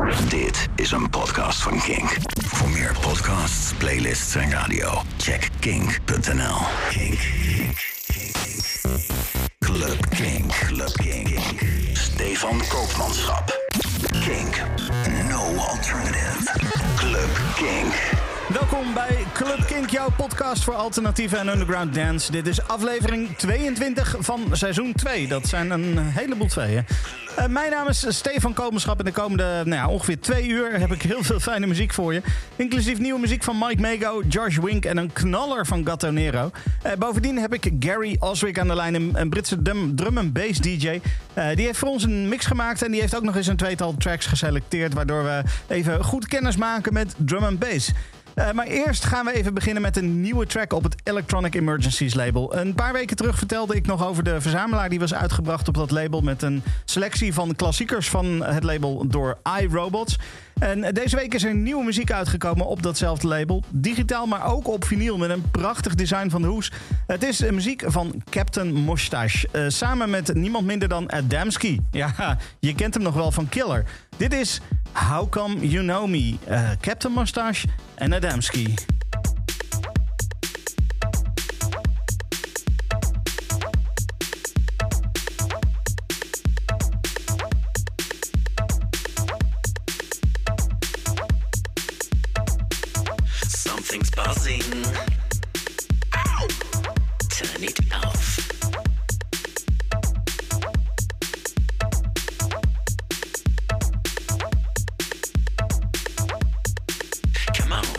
Dit is een podcast van Kink. Voor meer podcasts, playlists en radio, check kink.nl. Kink. Club Kink. Stefan Koopmanschap. Kink. No alternative. Club Kink. Welkom bij Club Kink, jouw podcast voor alternatieve en underground dance. Dit is aflevering 22 van seizoen 2. Dat zijn een heleboel tweeën. Mijn naam is Stefan Koopmanschap en de komende ongeveer 2 uur heb ik heel veel fijne muziek voor je. Inclusief nieuwe muziek van Mike Mago, Josh Wink en een knaller van Gatto Nero. Bovendien heb ik Gary Oswick aan de lijn, een Britse drum en bass DJ. Die heeft voor ons een mix gemaakt en die heeft ook nog eens een tweetal tracks geselecteerd, waardoor we even goed kennis maken met drum en bass. Maar eerst gaan we even beginnen met een nieuwe track op het Electronic Emergencies label. Een paar weken terug vertelde ik nog over de verzamelaar die was uitgebracht op dat label met een selectie van klassiekers van het label door iRobots. En deze week is er nieuwe muziek uitgekomen op datzelfde label. Digitaal, maar ook op vinyl met een prachtig design van de hoes. Het is muziek van Captain Mustache. Samen met niemand minder dan Adamski. Ja, je kent hem nog wel van Killer. Dit is How Come You Know Me. Captain Mustache en Adamski. Something's buzzing. Ow! Turn it off. Come on.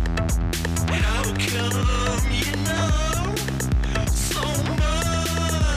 How come you know so much?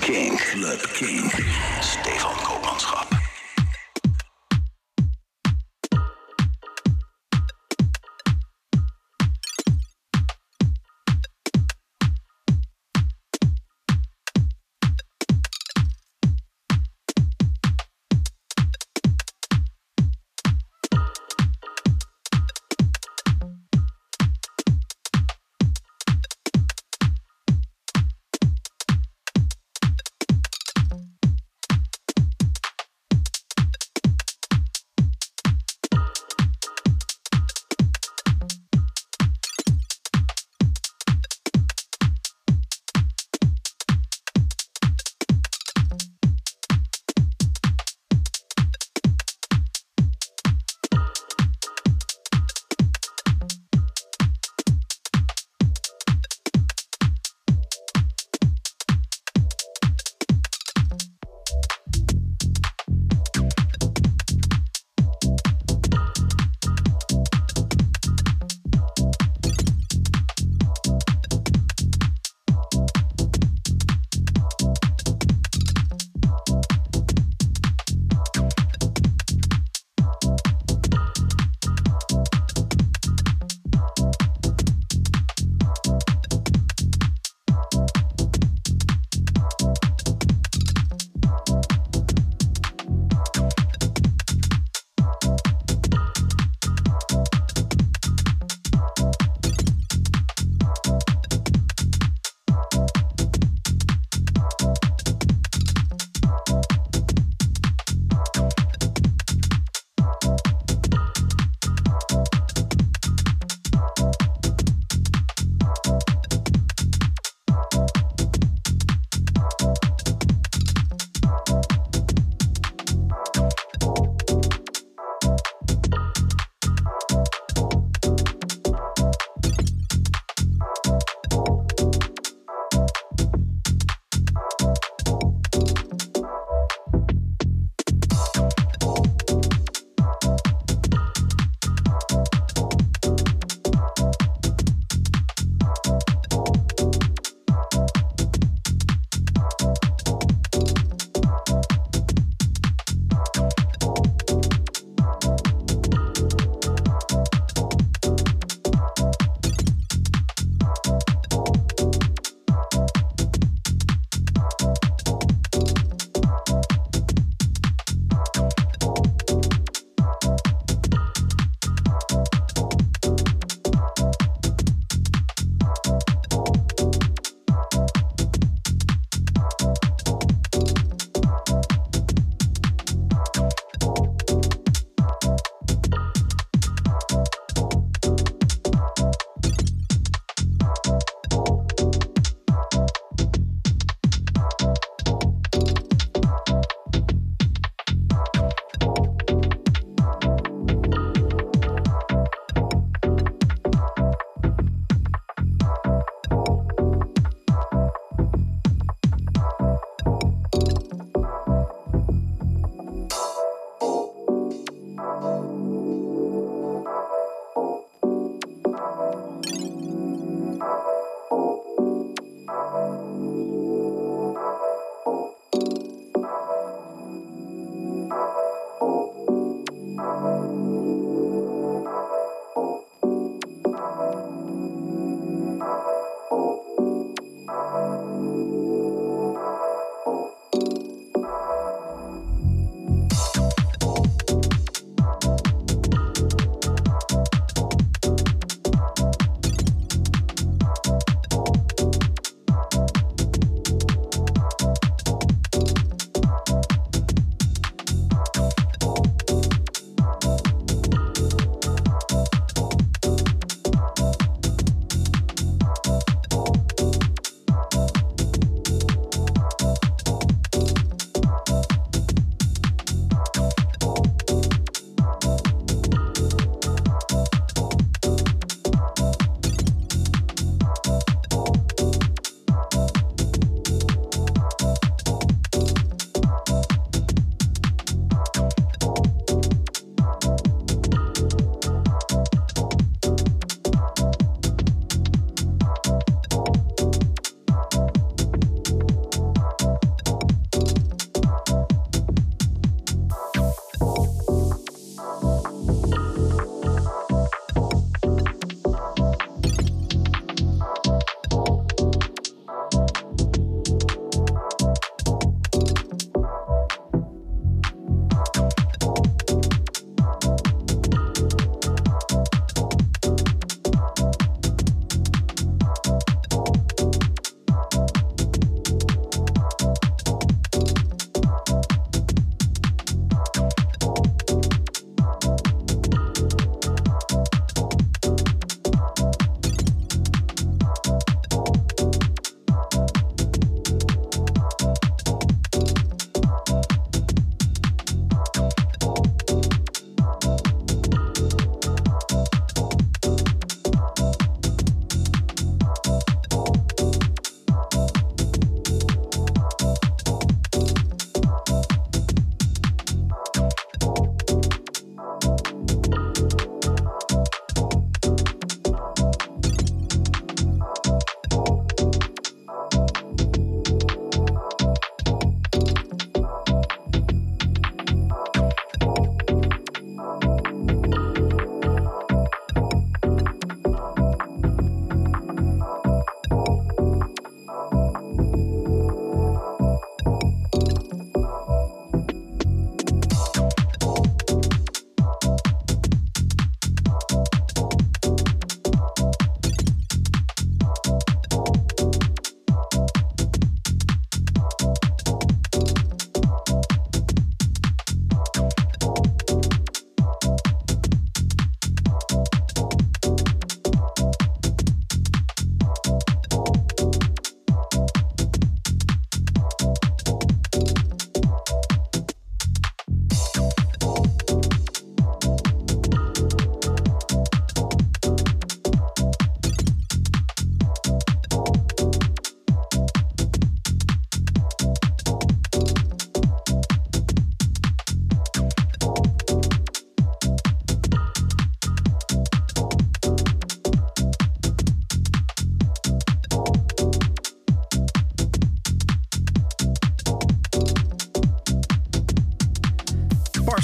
Kink. Club Kink. Stefan Koopmanschap.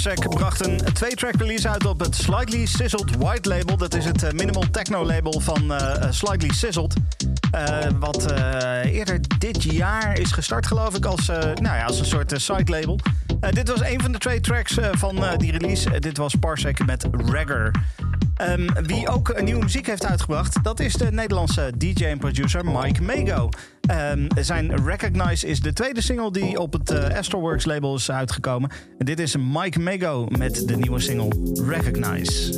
Parsec bracht een 2-track release uit op het Slightly Sizzled White label. Dat is het minimal techno label van Slightly Sizzled. Wat eerder dit jaar is gestart, geloof ik, als een soort side label. Dit was een van de 2 tracks van die release. Dit was Parsec met Ragger. Wie ook nieuwe muziek heeft uitgebracht, dat is de Nederlandse DJ en producer Mike Mago. Zijn Recognize is de tweede single die op het Astralworks label is uitgekomen. En dit is Mike Mago met de nieuwe single Recognize.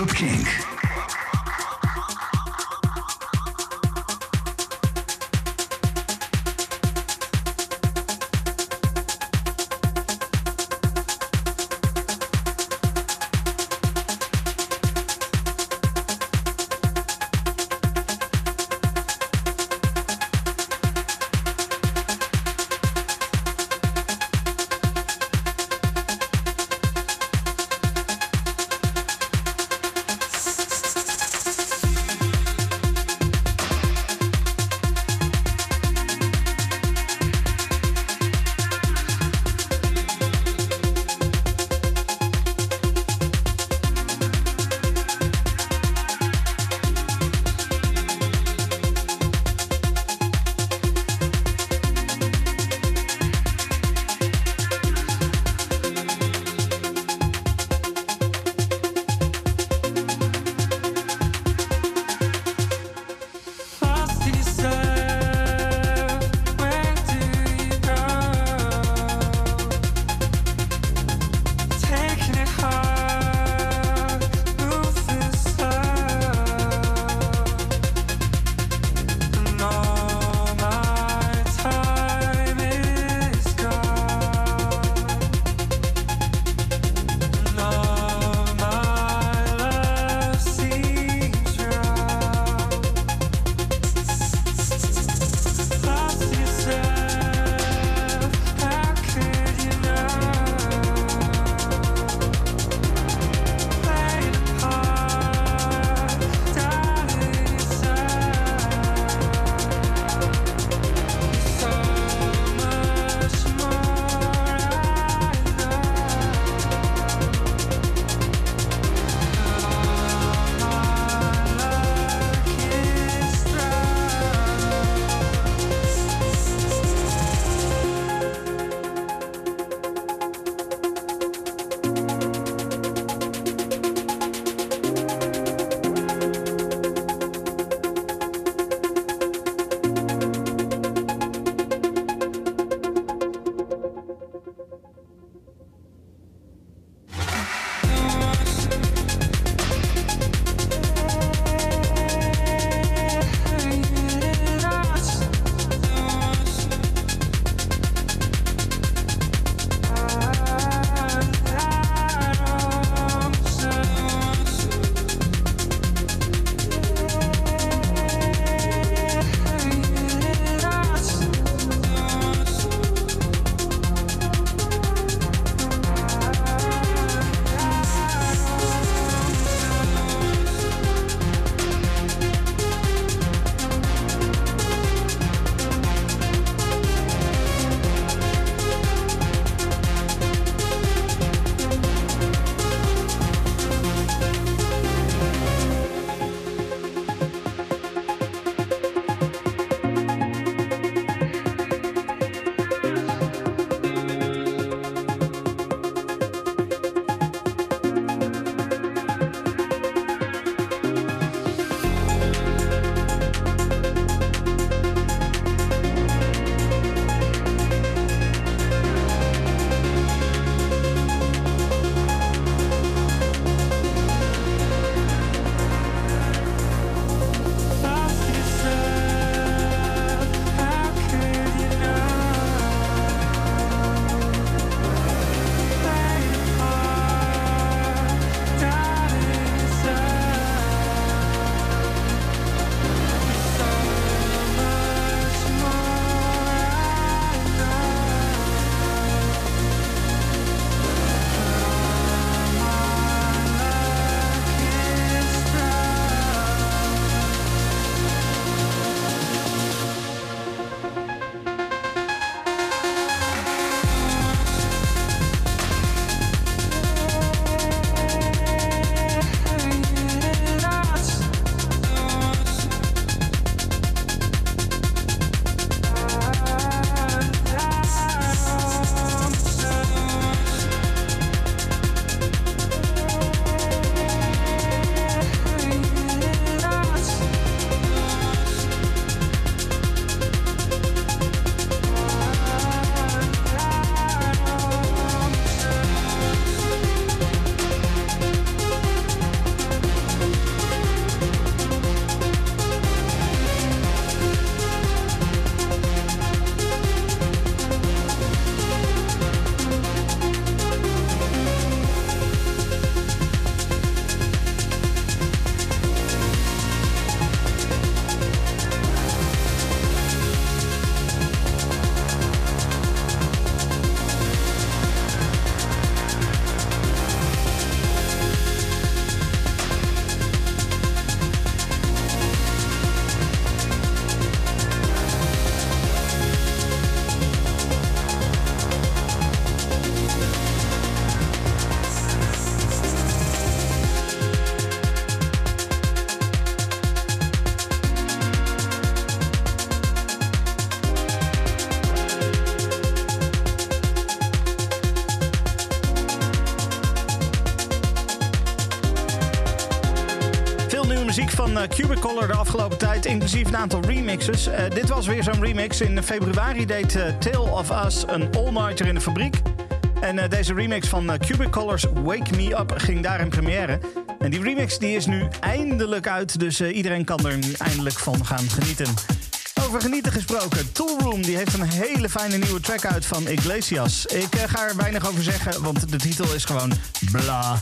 Club Kink. Veel nieuwe muziek van Cubicolor de afgelopen tijd, inclusief een aantal remixes. Dit was weer zo'n remix. In februari deed Tale of Us een all-nighter in de fabriek. En deze remix van Cubicolor's Wake Me Up ging daar in première. En die remix die is nu eindelijk uit, dus iedereen kan er nu eindelijk van gaan genieten. Over genieten gesproken, Toolroom die heeft een hele fijne nieuwe track uit van Iglesias. Ik ga er weinig over zeggen, want de titel is gewoon bla.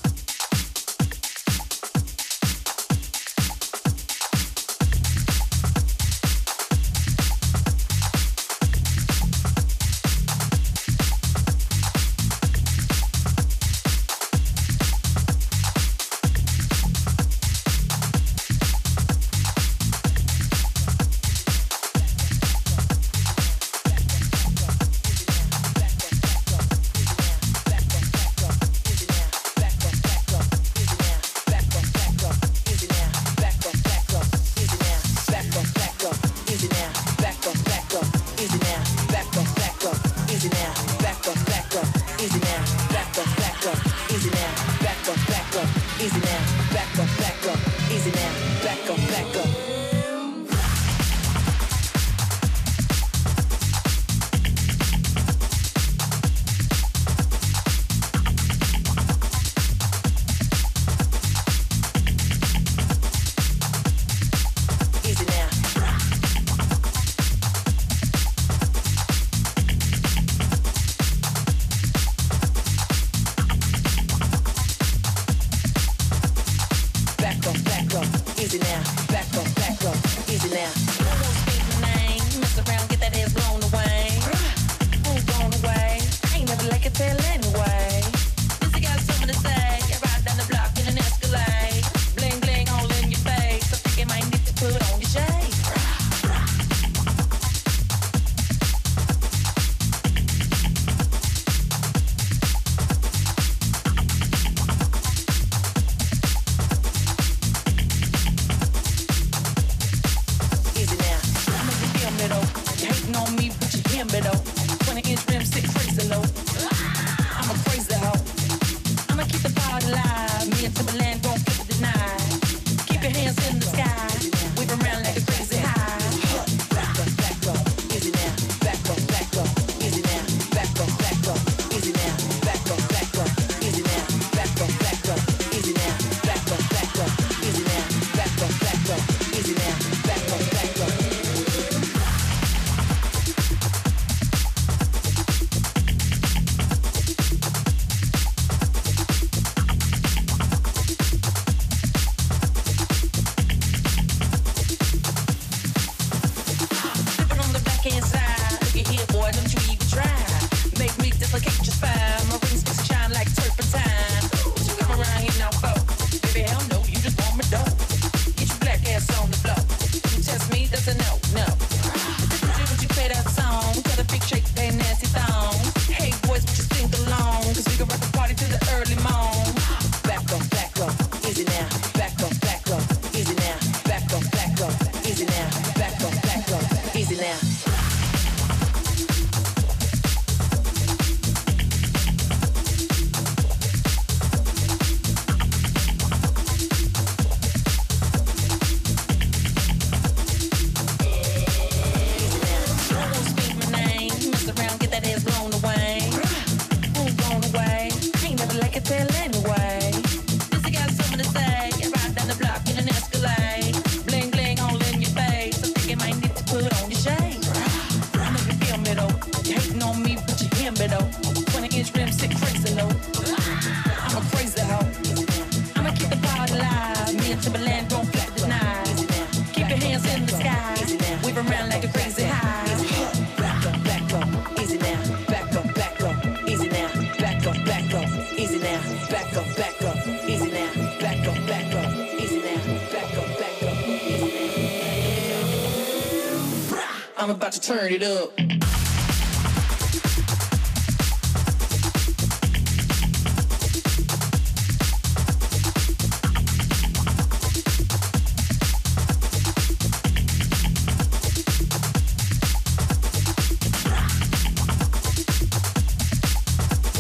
I'm about to turn it up.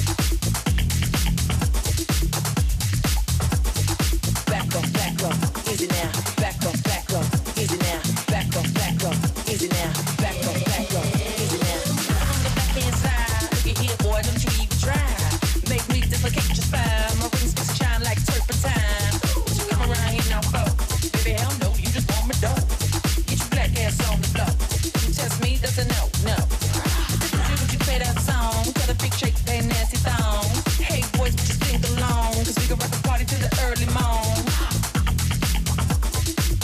Back up, easy easy now, back up, easy now, back up, easy now, back up, easy now. On the back inside, look at here, boy, don't you even try. Make me dislocate your spine, my rings just shine like turpentine. What you come around here now for? Baby, hell no, you just want me dope. Get your black ass on the floor. You test me, that's a no. Would you play that song? Got a big shake, that nasty thong. Hey boys, just sing along, cause we can rock the party to the early morn.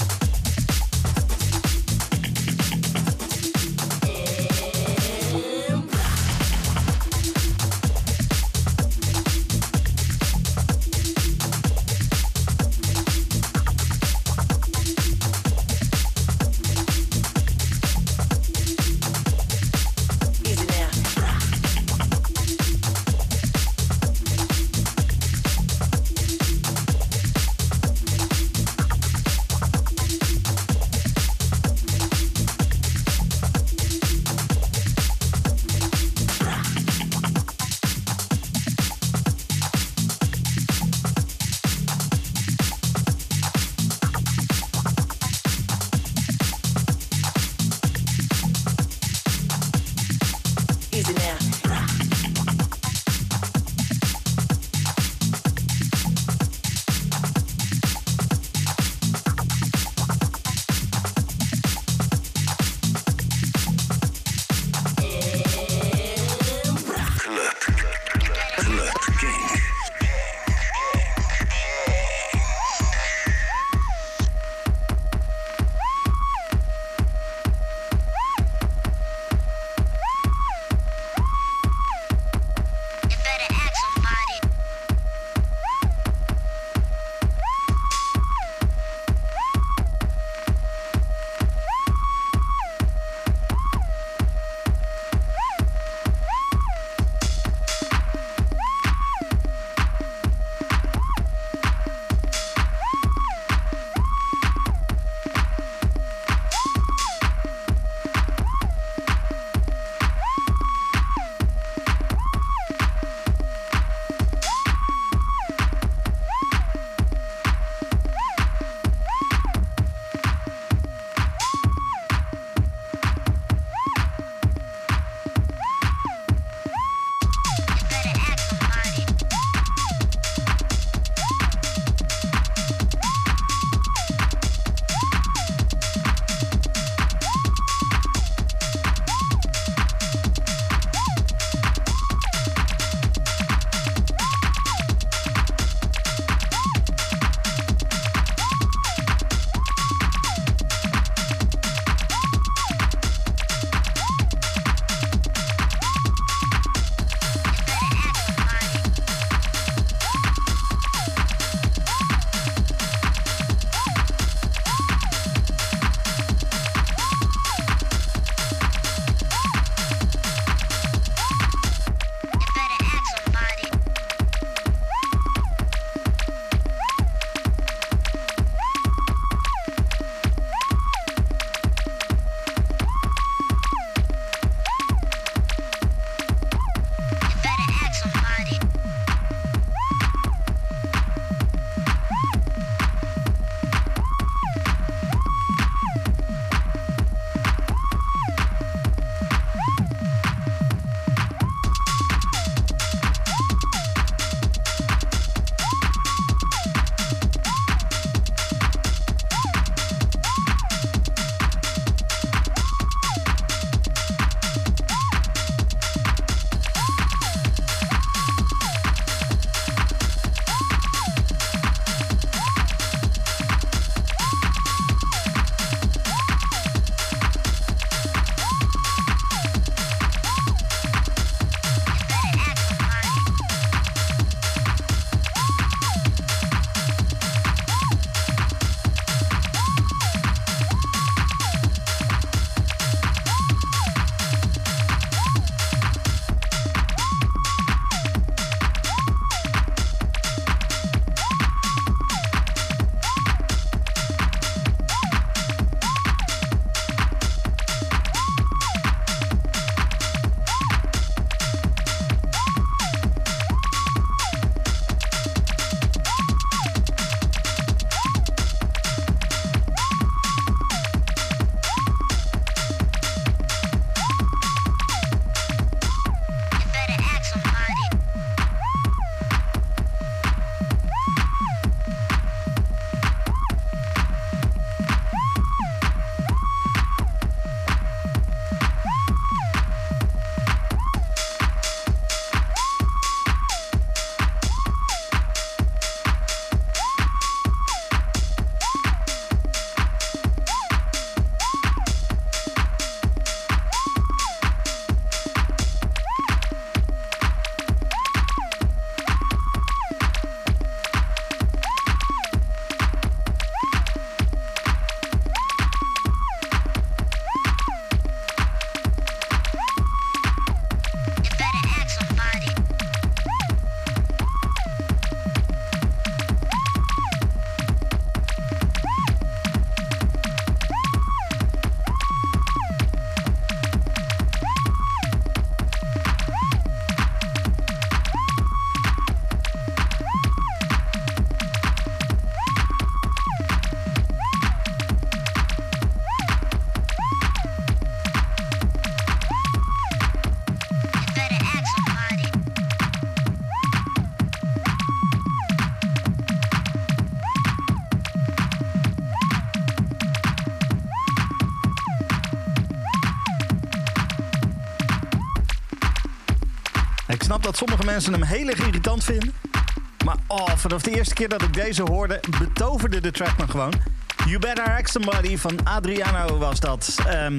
snap dat sommige mensen hem heel erg irritant vinden. Maar vanaf de eerste keer dat ik deze hoorde, betoverde de track me gewoon. You Better Ask Somebody van Adriano was dat.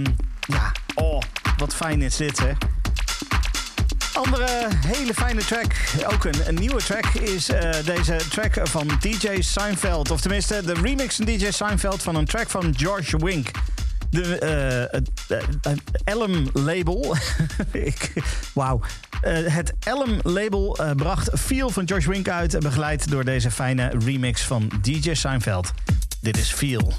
Wat fijn is dit, hè. Andere hele fijne track, ook een nieuwe track, is deze track van DJ Seinfeld. Of tenminste, de remix van DJ Seinfeld van een track van George Wink. De Elm-label. Het Elm-label bracht Feel van George Wink uit, begeleid door deze fijne remix van DJ Seinfeld. Dit is Feel.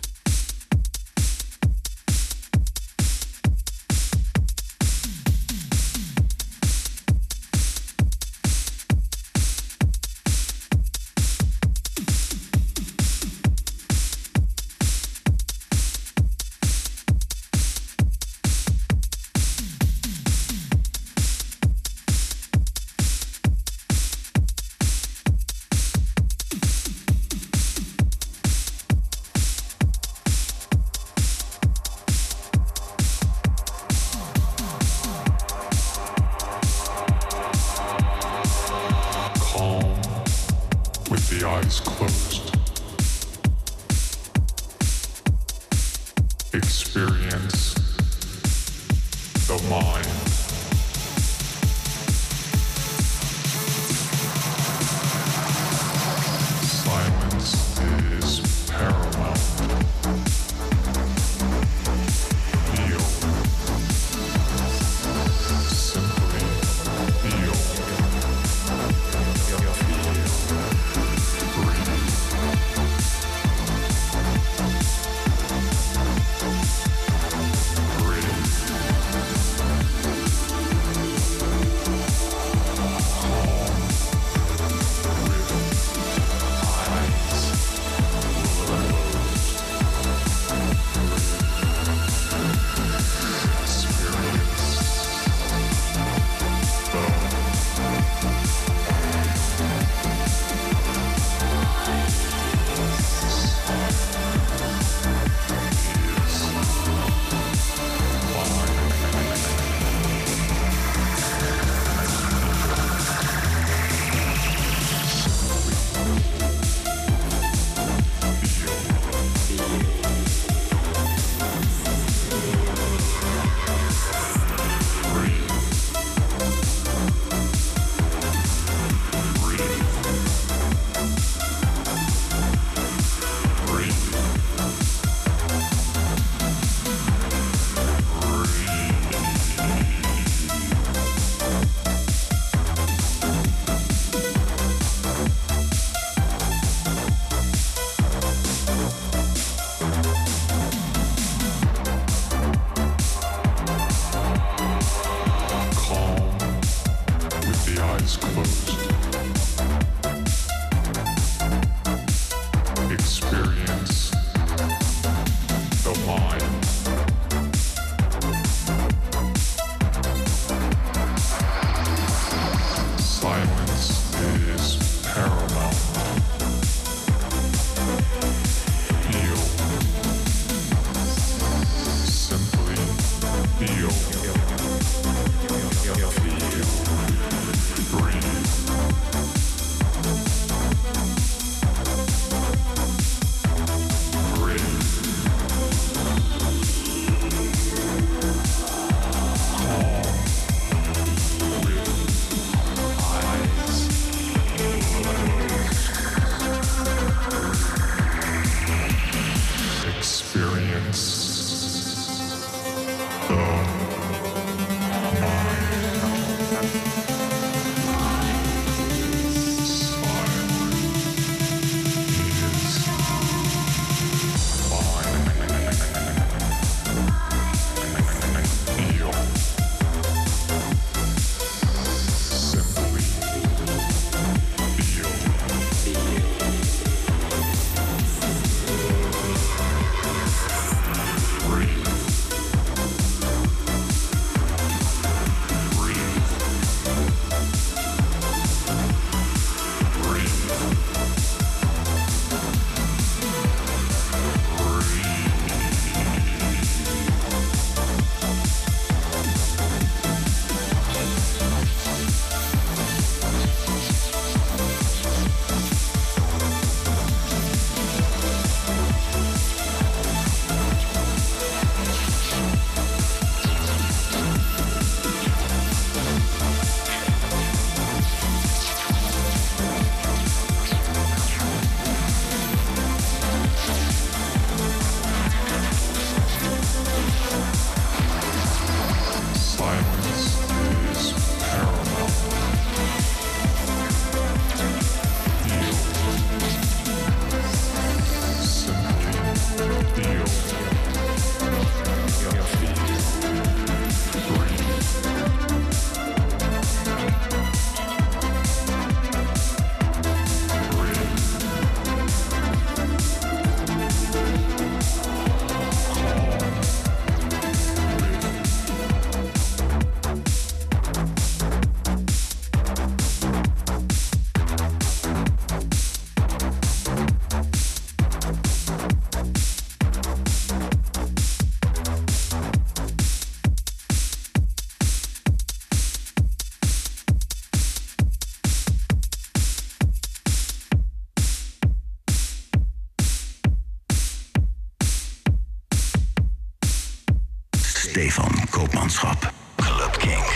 Stefan Koopmanschap. Club Kink.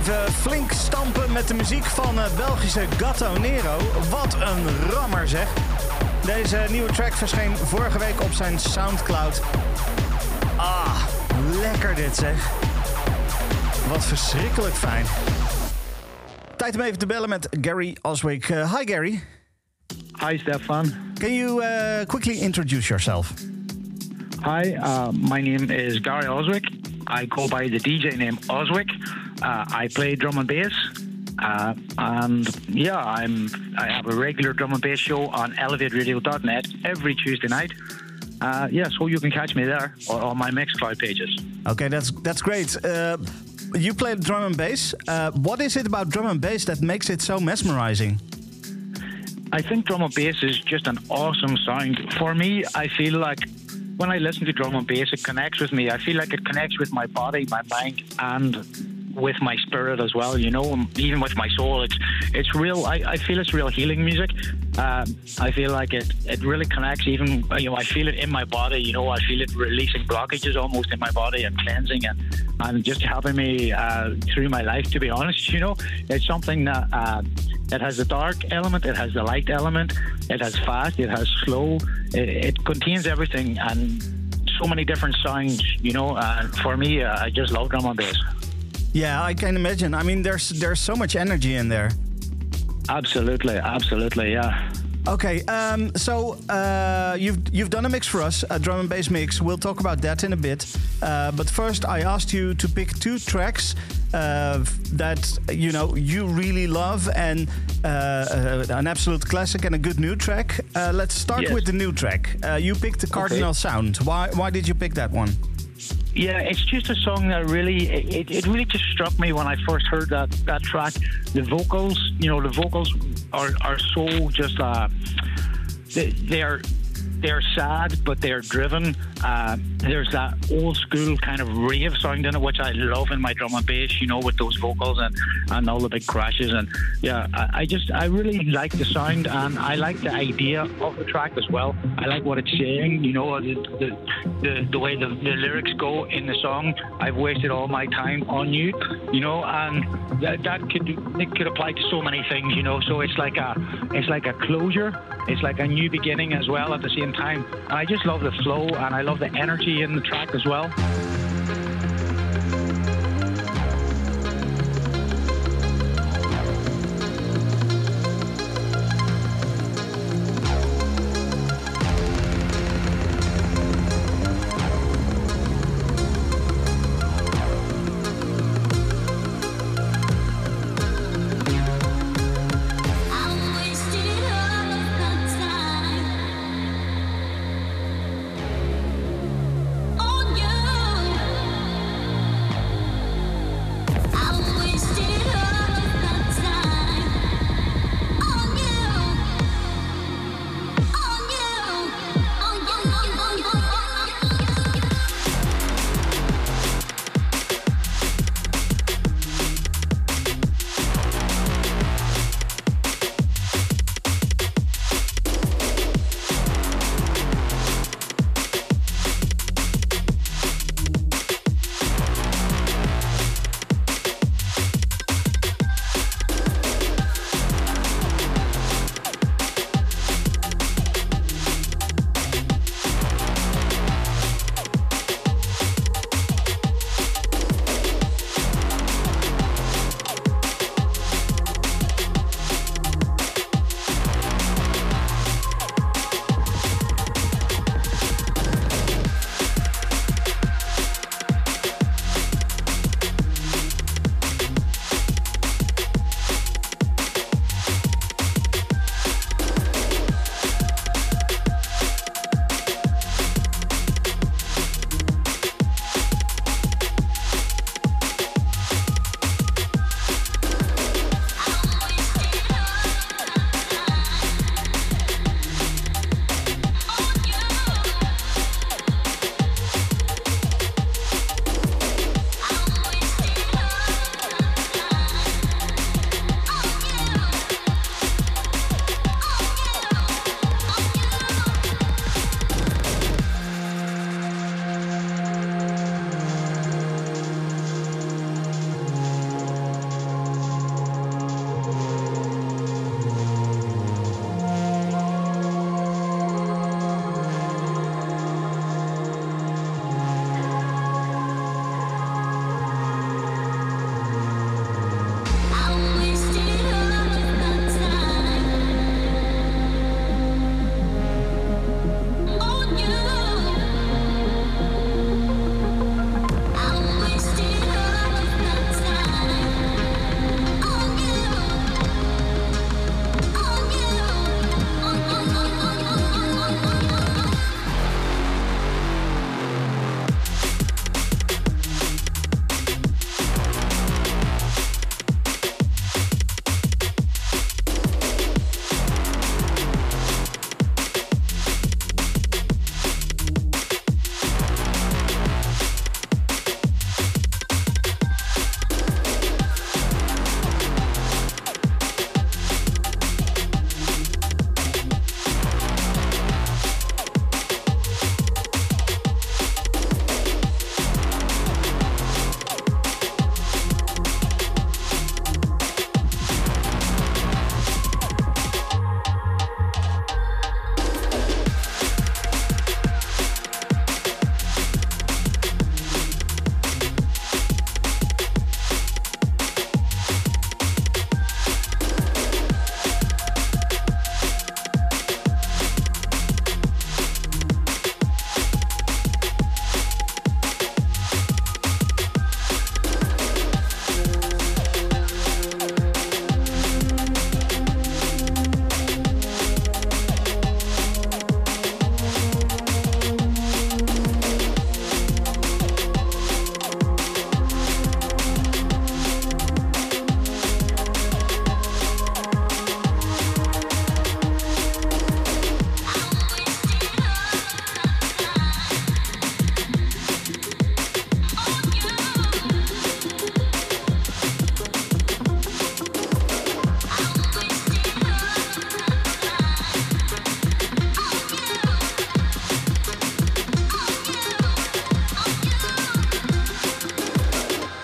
Even flink stampen met de muziek van Belgische Gatto Nero. Wat een rammer zeg. Deze nieuwe track verscheen vorige week op zijn Soundcloud. Ah, lekker dit zeg. Wat verschrikkelijk fijn. Tijd om even te bellen met Gary Oswick. Hi Gary. Hi Stefan. Can you quickly introduce yourself? Hi, my name is Gary Oswick. I go by the DJ name Oswick. I play drum and bass. And yeah, I have a regular drum and bass show on elevateradio.net every Tuesday night. So you can catch me there or on my Mixcloud pages. Okay, that's great. You play drum and bass. What is it about drum and bass that makes it so mesmerizing? I think drum and bass is just an awesome sound. For me, I feel like when I listen to drum and bass, it connects with me. I feel like it connects with my body, my mind, and with my spirit as well, you know, even with my soul. It's real. I feel it's real healing music. I feel like it really connects. Even, you know, I feel it in my body. You know, I feel it releasing blockages almost in my body and cleansing and just helping me through my life. To be honest, you know, it's something that it has the dark element, it has the light element, it has fast, it has slow. It contains everything and so many different sounds. You know, and for me, I just love drum and bass. Yeah, I can imagine. I mean, there's so much energy in there. Absolutely, yeah. Okay, so you've done a mix for us, a drum and bass mix. We'll talk about that in a bit. But first, I asked you to pick 2 tracks that you really love, and an absolute classic and a good new track. Let's start with the new track. You picked the Cardinal Sound. Why did you pick that one? Yeah, it's just a song that really, it really just struck me when I first heard that track. The vocals, the vocals are so just, they're sad, but they're driven. There's that old school kind of rave sound in it, which I love in my drum and bass, with those vocals and all the big crashes. And yeah, I really like the sound, and I like the idea of the track as well. I like what it's saying, the way the lyrics go in the song. I've wasted all my time on you, and that could apply to so many things, So it's like a closure. It's like a new beginning as well at the same time. And I just love the flow, and I love the energy in the track as well. On you.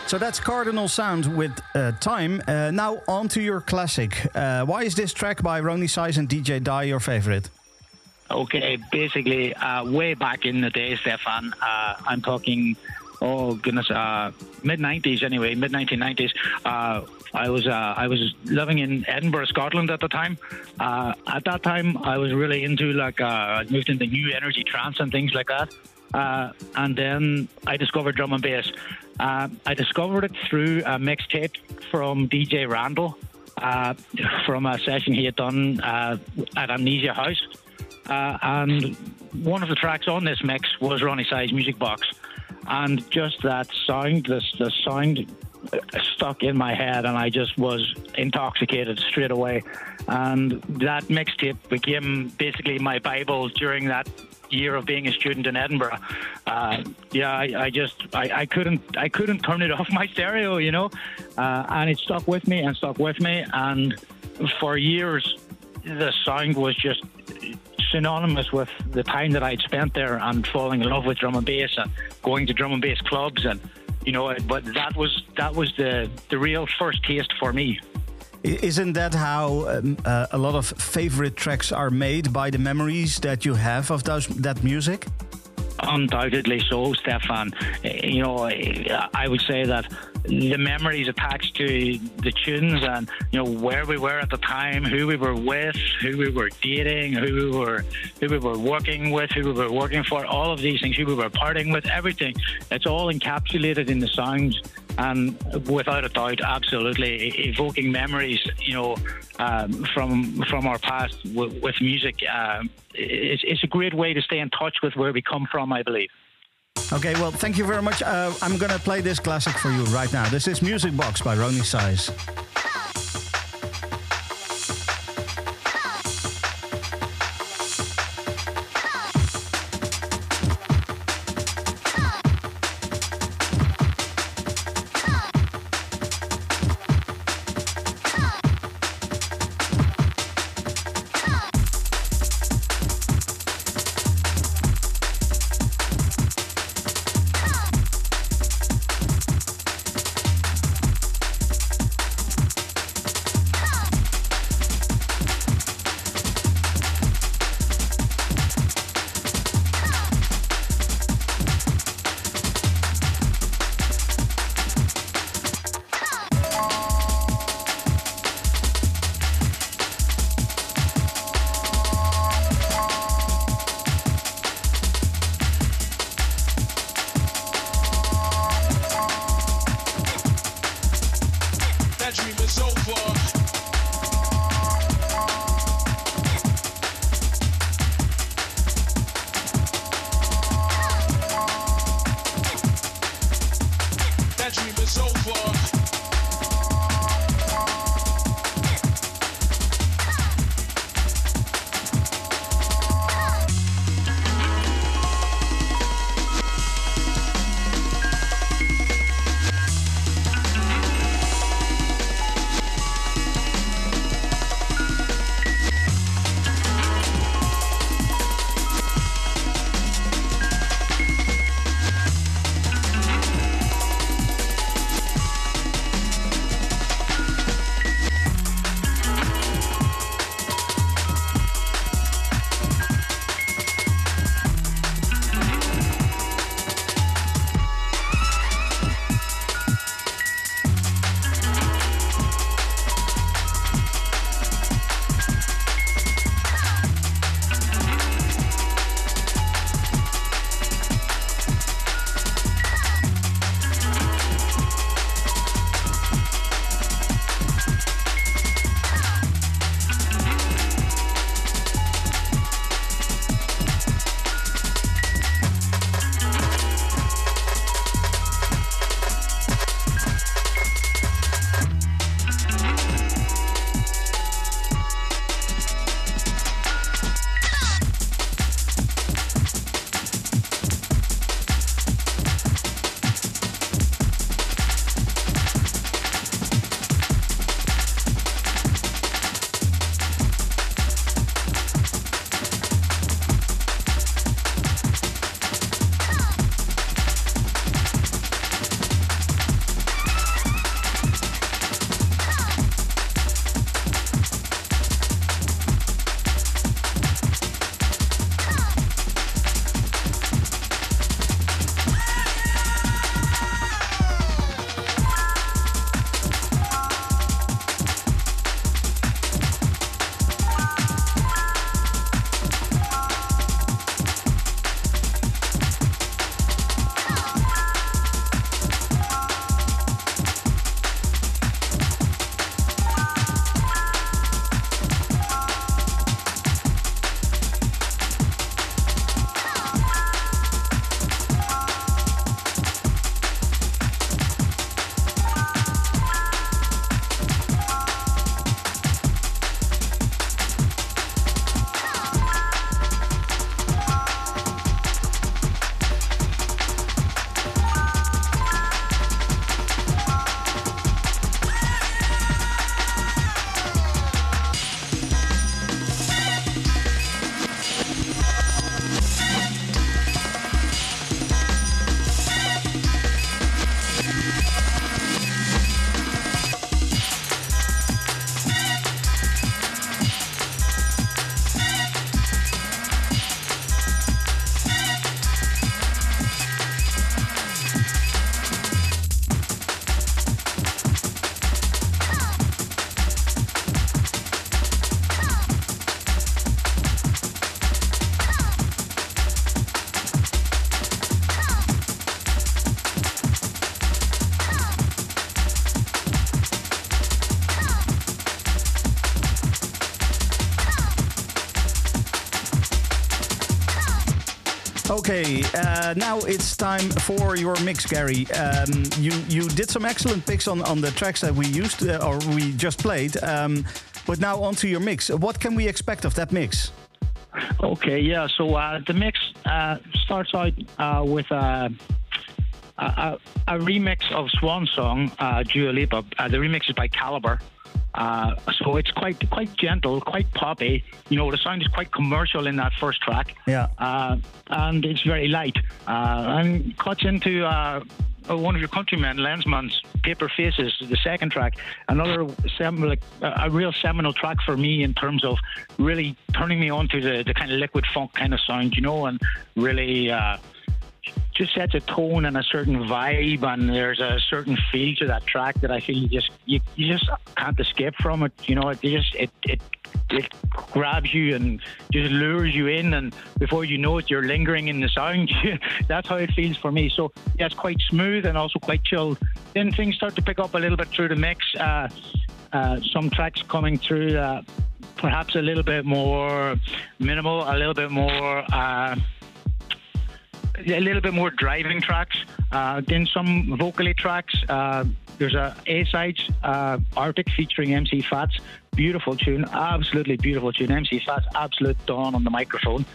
So that's Cardinal Sound with Time. Now on to your classic. Why is this track by Ronnie Size and DJ Die your favorite? Okay, basically, way back in the day, Stefan, I'm talking, mid-90s anyway, mid-1990s. I was living in Edinburgh, Scotland at the time. At that time, I was really into I moved into new energy trance and things like that. And then I discovered drum and bass. I discovered it through a mixtape from DJ Randall from a session he had done at Amnesia House. And one of the tracks on this mix was Ronnie Size Music Box. And just that sound, the sound stuck in my head, and I just was intoxicated straight away. And that mixtape became basically my Bible during that year of being a student in Edinburgh. I couldn't turn it off my stereo, and it stuck with me. And for years, the sound was just synonymous with the time that I'd spent there and falling in love with drum and bass and going to drum and bass clubs, and but that was the real first taste for me. Isn't that how a lot of favorite tracks are made, by the memories that you have of that music? Undoubtedly so, Stefan. I would say that the memories attached to the tunes and where we were at the time, who we were with, who we were dating, who we were working with, who we were working for, all of these things, who we were partying with, everything. It's all encapsulated in the sounds, and without a doubt, absolutely evoking memories, from our past with music. It's a great way to stay in touch with where we come from, I believe. Okay, well, thank you very much. I'm going to play this classic for you right now. This is Music Box by Ronnie Size. Okay, now it's time for your mix, Gary. You did some excellent picks on the tracks that we used or we just played. But now onto your mix. What can we expect of that mix? Okay, yeah. So the mix starts out with a remix of Swan Song, Dua Lipa. The remix is by Calibre. So it's quite gentle, quite poppy. You know, the sound is quite commercial in that first track. Yeah. And it's very light. And cuts into one of your countrymen, Lensman's Paper Faces, the second track. Another a real seminal track for me in terms of really turning me on to the kind of liquid funk kind of sound, you know, and really just sets a tone and a certain vibe, and there's a certain feel to that track that I feel you just can't escape from it. You know, it grabs you and just lures you in, and before you know it, you're lingering in the sound. That's how it feels for me. So yeah, it's quite smooth and also quite chilled. Then things start to pick up a little bit through the mix. Some tracks coming through perhaps a little bit more minimal, a little bit more driving tracks, then some vocally tracks. There's a A-sides, Arctic featuring MC Fats. Beautiful tune, absolutely beautiful tune. MC Fats, absolute dawn on the microphone.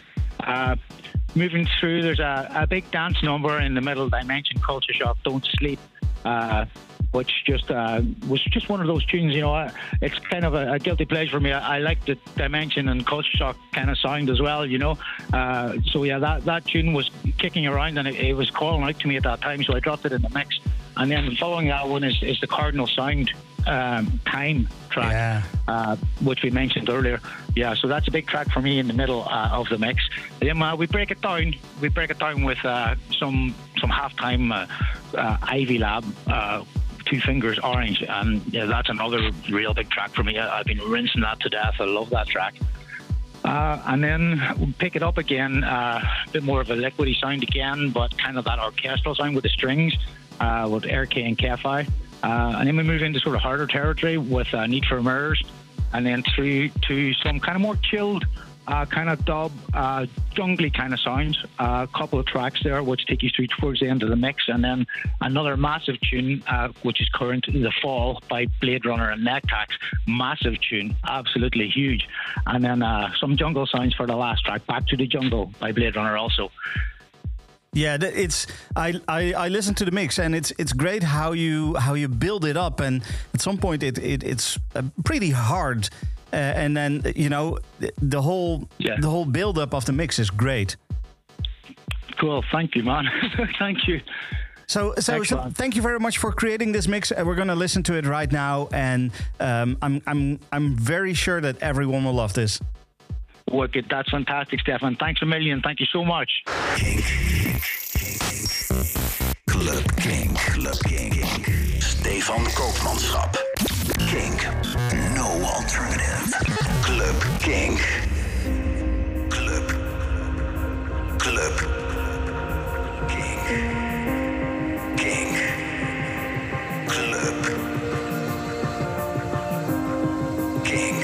Moving through, there's a big dance number in the middle, Dimension, Culture Shock, Don't Sleep, which was just one of those tunes, you know. It's kind of a guilty pleasure for me. I like the Dimension and Culture Shock kind of sound as well, you know. So yeah, that tune was kicking around, and it was calling out to me at that time, so I dropped it in the mix. And then following that one is the Cardinal Sound Time track, which we mentioned earlier. Yeah, so that's a big track for me in the middle of the mix. Then we break it down. We break it down with some halftime Ivy Lab. Two Fingers Orange, and yeah, that's another real big track for me. I've been rinsing that to death. I love that track. And then we'll pick it up again, a bit more of a liquidy sound again, but kind of that orchestral sound with the strings, with RK and Kefi. And then we move into sort of harder territory with Need for Mirrors, and then through to some kind of more chilled, kind of dub, jungly kind of sounds. A couple of tracks there which take you through towards the end of the mix, and then another massive tune which is current, The Fall by Blade Runner and Nectax. Massive tune, absolutely huge. And then some jungle sounds for the last track, Back to the Jungle by Blade Runner also. Yeah, I listened to the mix, and it's great how you build it up, and at some point it's pretty hard. And then, you know, the whole build up of the mix is great. Cool, thank you, man. Thank you. So thank you very much for creating this mix. We're going to listen to it right now, and I'm very sure that everyone will love this. Wicked, that's fantastic, Stefan. Thanks a million. Thank you so much. Kink. Club Kink. Stefan Koopmanschap. Kink. No alternative. Club Kink. Club Kink. Kink. Club Kink.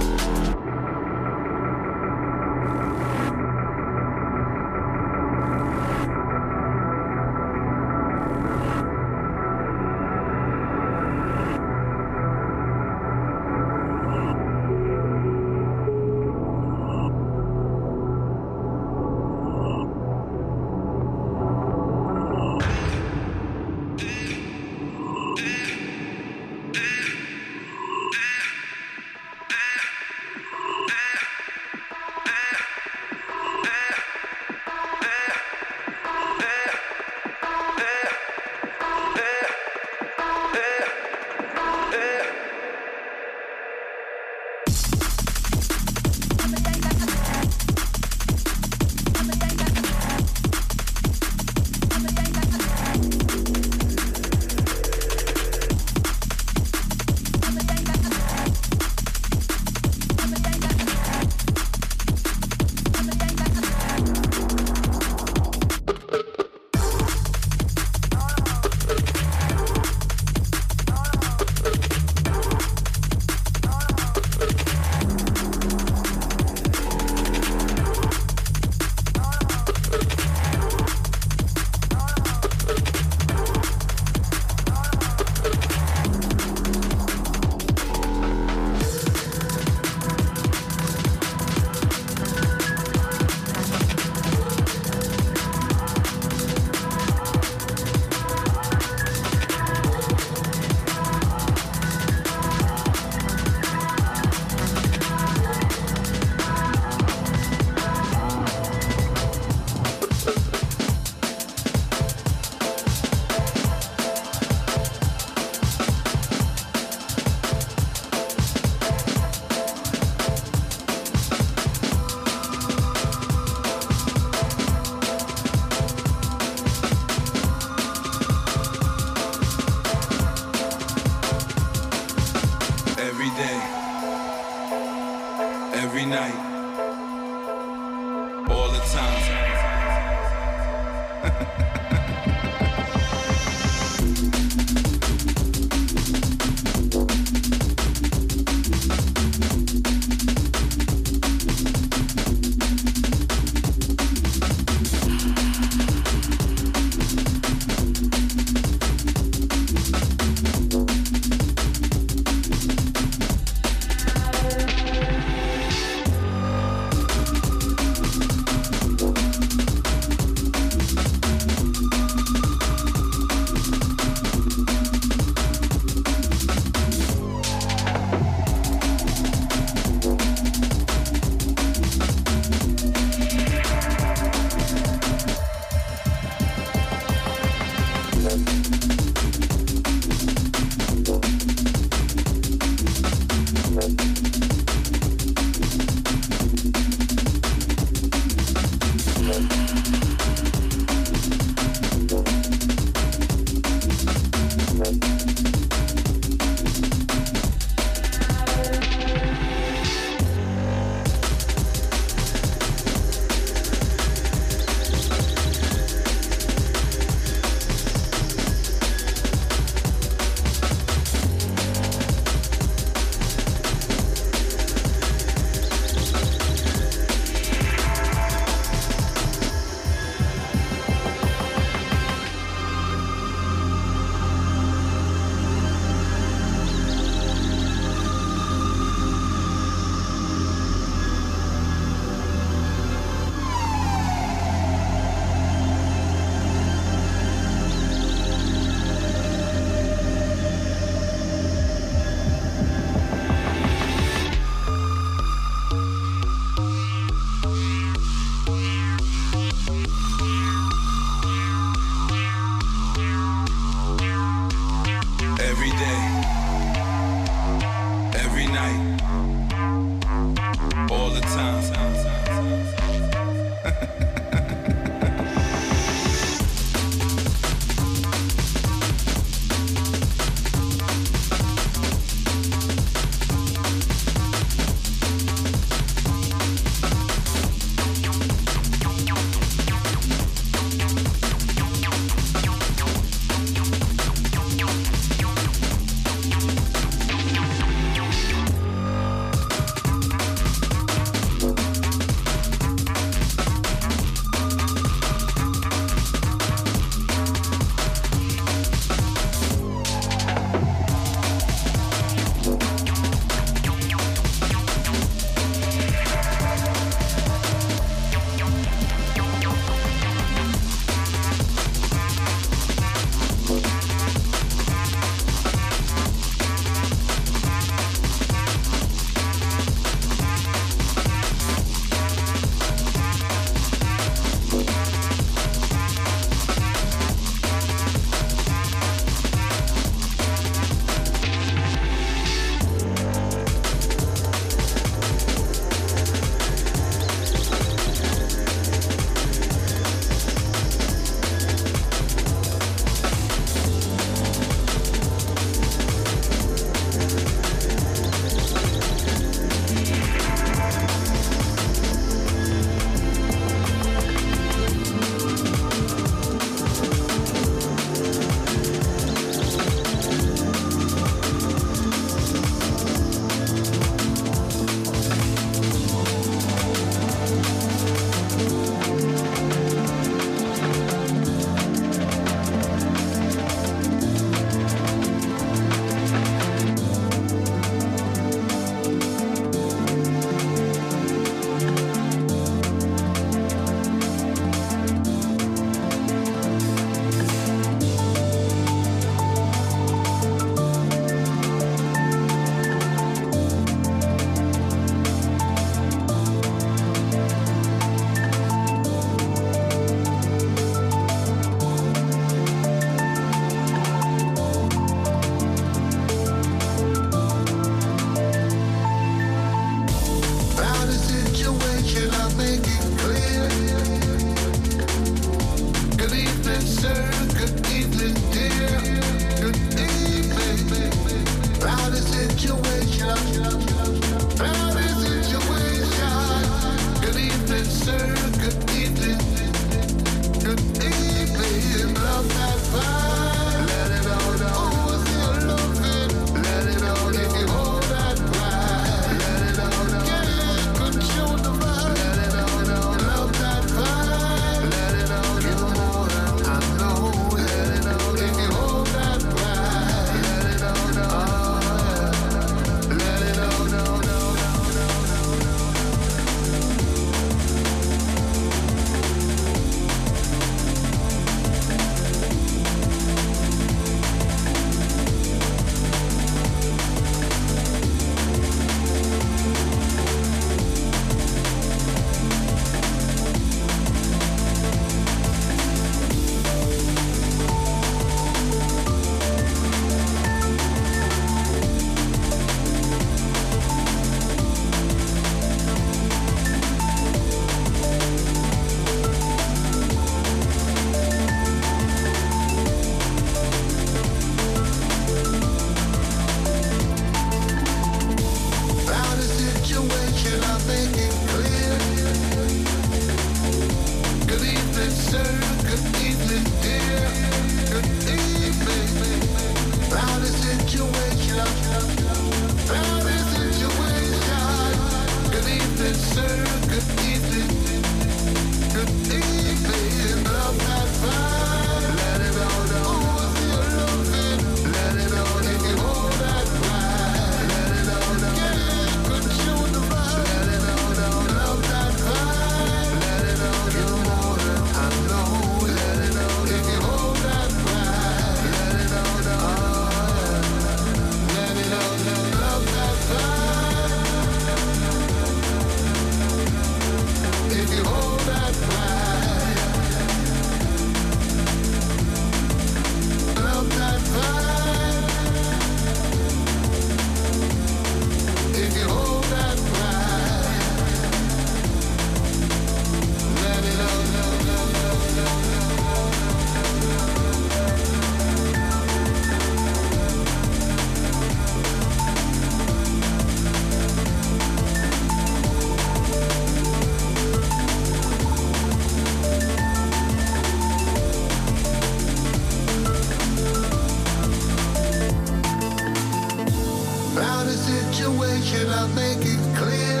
situation, I'll make it clear.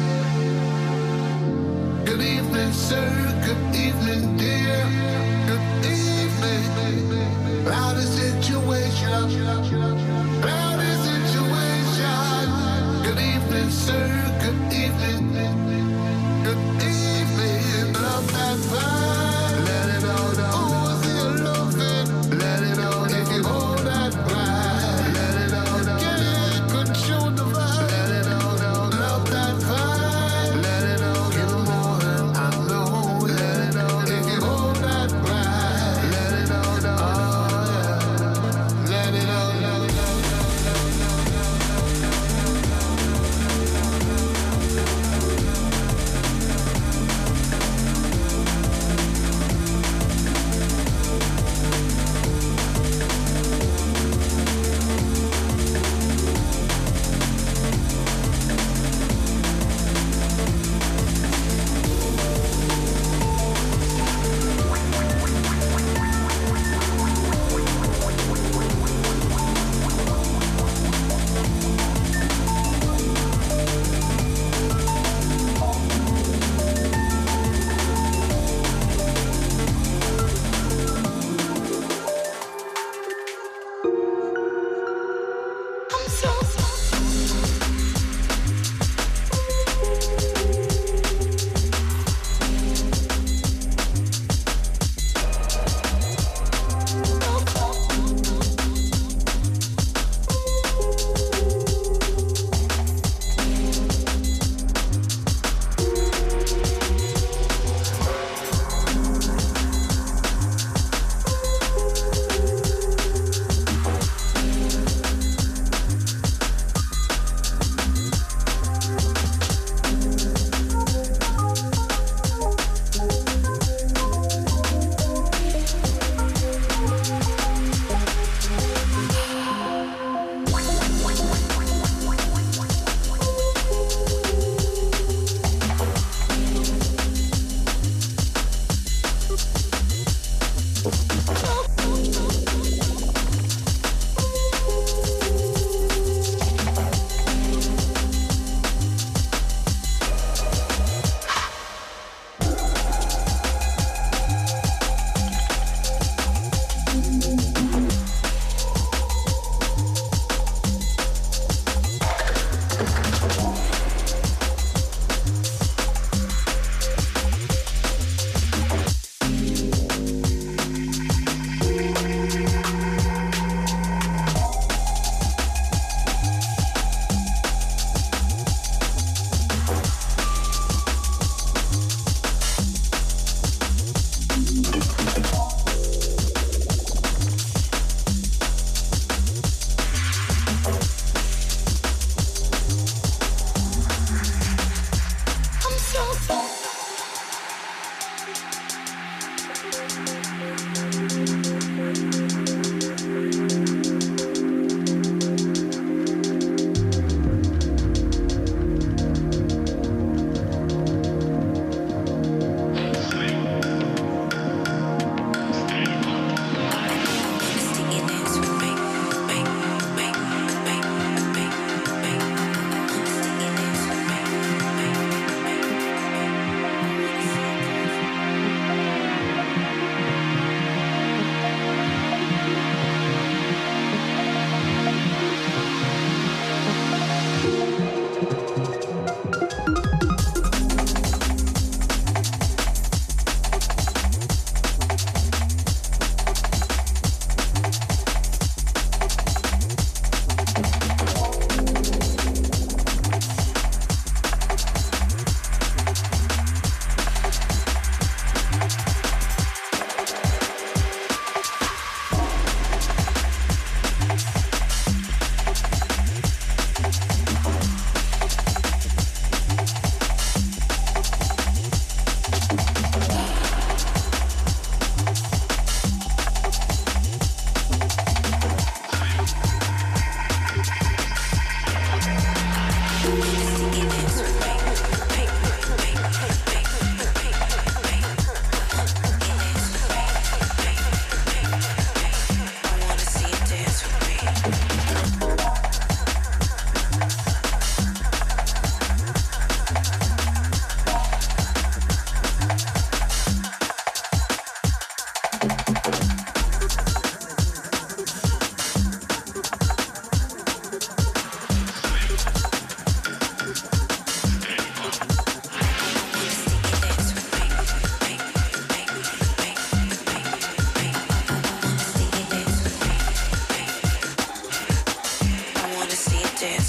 Good evening, sir. Good evening, dear. Good evening. Cloudy situation. Cloudy situation. Good evening, sir. Good evening. Good evening. Love that vibe. Let it all down. Oh, I see you loving. Let it all down. If you hold that vibe. Let it all down. Yeah, control the vibe. Let it all down. Love that vibe. Let it all give more than I know. Let it all down. If you hold that vibe. Let it all down. Oh, yeah. Let it all down.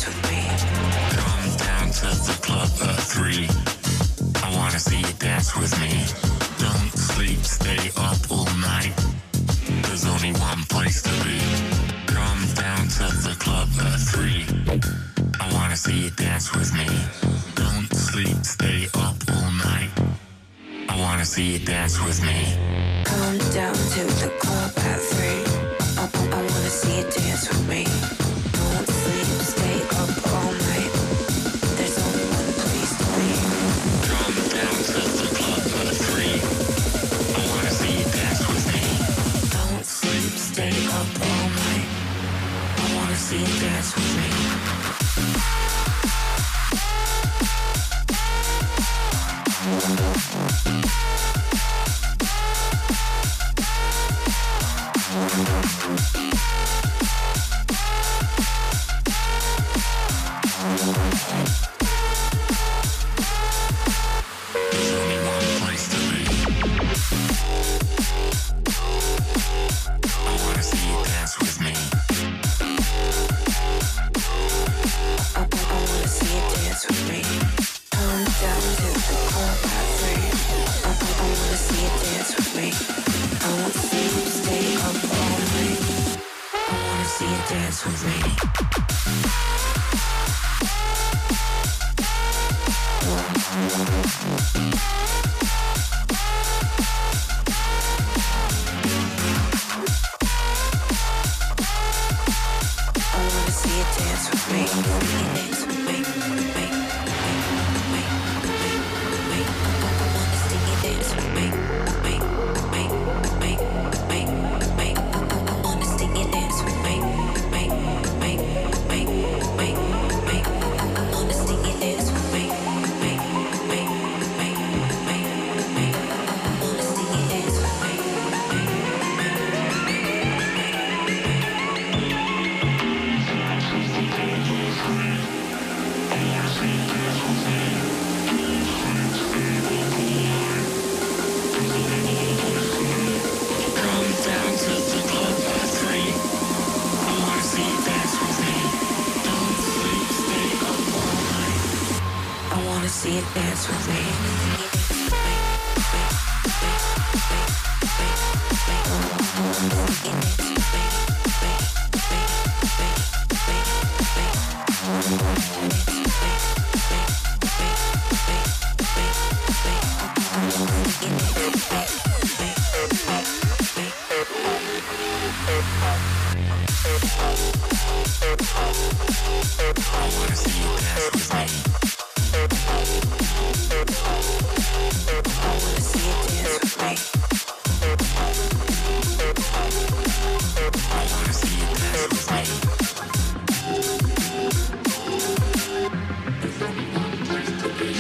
dance with me. Come down to the club at 3. I wanna see you dance with me. Don't sleep, stay up all night. There's only one place to be. Come down to the club at 3. I wanna see you dance with me. Don't sleep, stay up all night. I wanna see you dance with me. Come down to the club at 3. I wanna see you dance with me. Don't sleep, stay up all night. There's only one place to be. Come down to the club at 3. I wanna see you dance with me. Don't sleep, stay up all night. I wanna see you dance with me. There's only one place to be. I wanna see you dance with me. I wanna see you dance with me. Come down to the club at 3. I wanna see you dance with me. I won't sleep, stay up all night. I wanna see you dance with me. I wanna see you dance with me. Dance with me. See you dance with me. I wanna see you dance with me. I wanna see you dance with me. I wanna see you dance with me. There's only one place to be.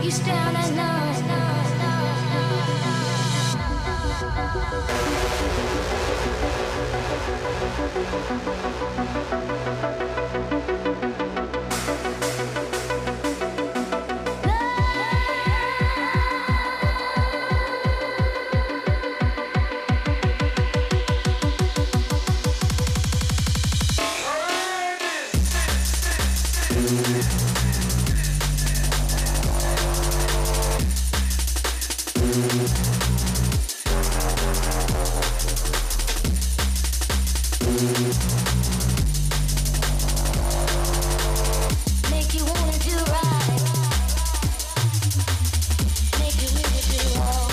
you stand alone. Make you wanna do right. Make you really do wrong.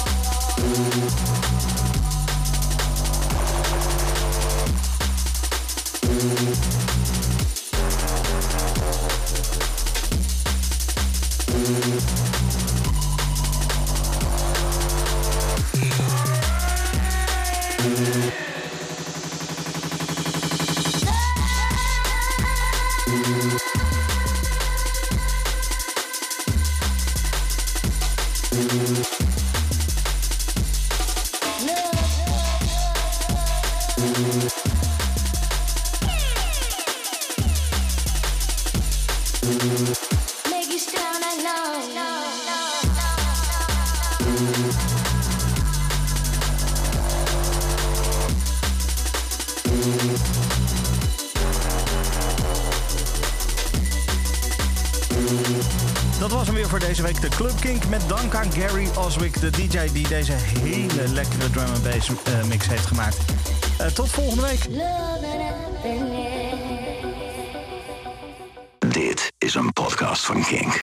Make you stand alone. Dat was hem weer voor deze week, de Club Kink. Met dank aan Gary Oswick, de DJ die deze hele lekkere drum and bass mix heeft gemaakt. Tot volgende week. Dit is een podcast van Kink.